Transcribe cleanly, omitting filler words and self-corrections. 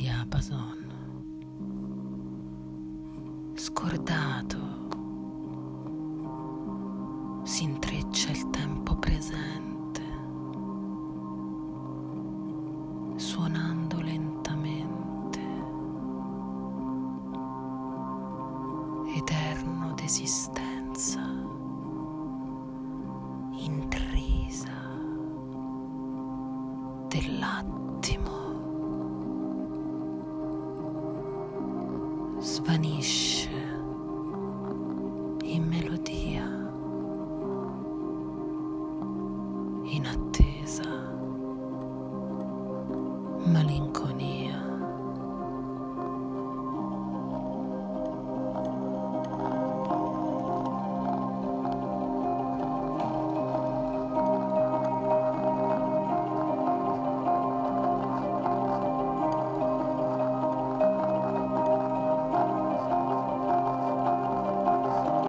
diapason, scordato, si intreccia il tempo presente, suonando lentamente, eterno d'esistenza, intrisa dell'attimo, svanisce